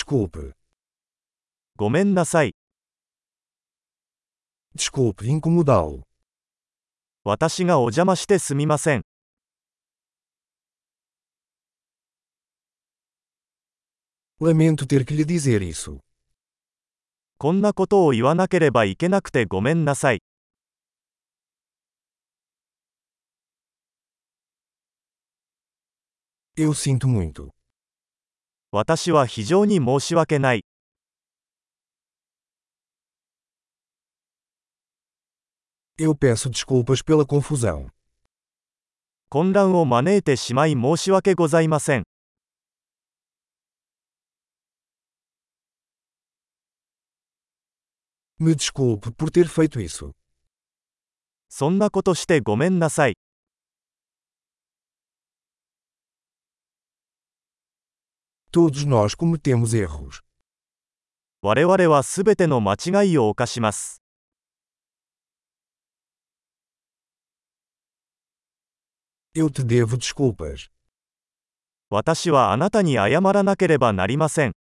Desculpe. ごめんなさい。 Desculpe incomodá-lo. 私がお邪魔してすみません。 Lamento ter que lhe dizer isso. こんなことを言わなければいけなくてごめんなさい。 Eu sinto muito. 私は非常に申し訳ない。 Eu peço desculpas pela confusão. 混乱を招いてしまい申し訳ございません。 Me desculpe por ter feito isso. そんなことしてごめんなさい。 Todos nós cometemos erros. 我々はすべての間違いを犯します。 Eu te devo desculpas. 私はあなたに謝らなければなりません。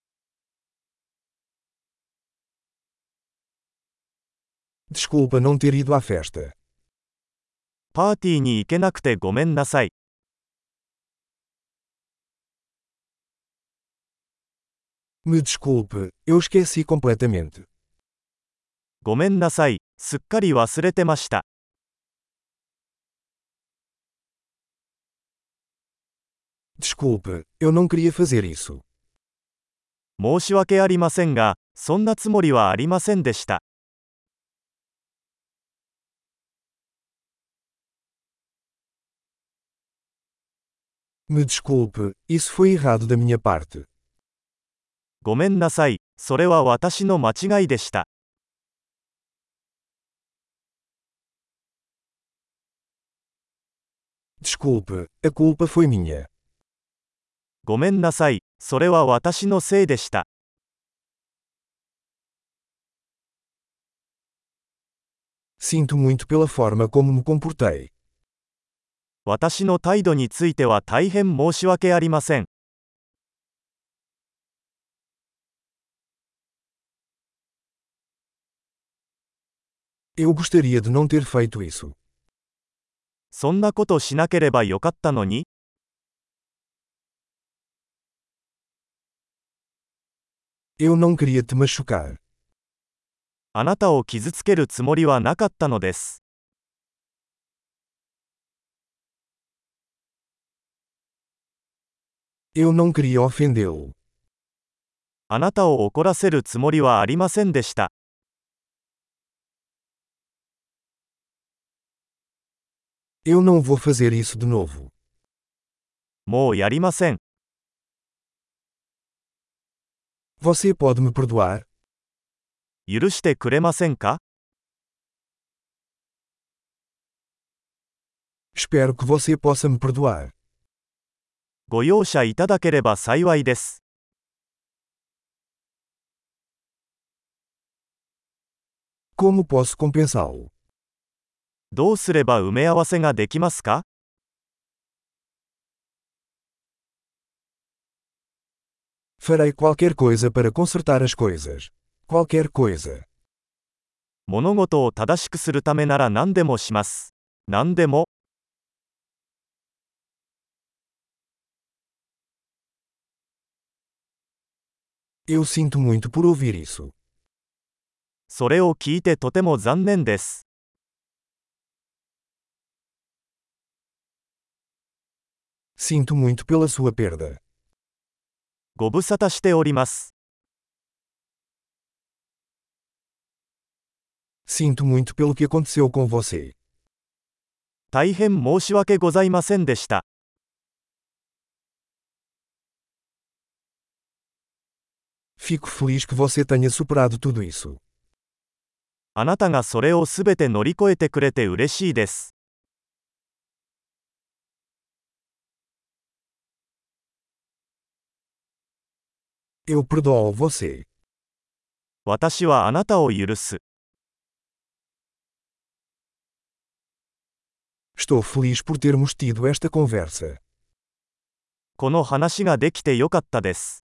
Desculpa não ter ido à festa. パーティーに行けなくてごめんなさい。 Me desculpe, eu esqueci completamente. ごめんなさい。すっかり忘れてました。 Desculpe, eu não queria fazer isso. 申し訳ありませんが、そんなつもりはありませんでした。 Me desculpe, isso foi errado da minha parte. ごめんなさい。それは私の間違いでした。 Desculpe, a culpa foi minha. ごめんなさい。それは私のせいでした。 Sinto muito pela forma como me comportei. 私の態度については大変申し訳ありません。 Eu gostaria de não ter feito isso. そんなことしなければよかったのに。 Eu não queria te machucar. あなたを傷つけるつもりはなかったのです。 Eu não queria ofendê-lo. あなたを怒らせるつもりはありませんでした。 Eu não vou fazer isso de novo. もうやりません。 Você pode me perdoar? 許してくれませんか？ Espero que você possa me perdoar. ご容赦いただければ幸いです。 Como posso compensá-lo? どうすれば埋め合わせができますか？ Farei qualquer coisa para consertar as coisas. Qualquer coisa. 物事を正しくするためなら何でもします。何でも。 Eu sinto muito por ouvir isso. それを聞いてとても残念です。 Sinto muito pela sua perda. ご無沙汰しております。 Sinto muito pelo que aconteceu com você. 大変申し訳ございませんでした。 Fico feliz que você tenha superado tudo isso. あなたがそれをすべて乗り越えてくれて嬉しいです。 Eu perdoo você. 私はあなたを許す。 Estou feliz por termos tido esta conversa. この話ができてよかったです。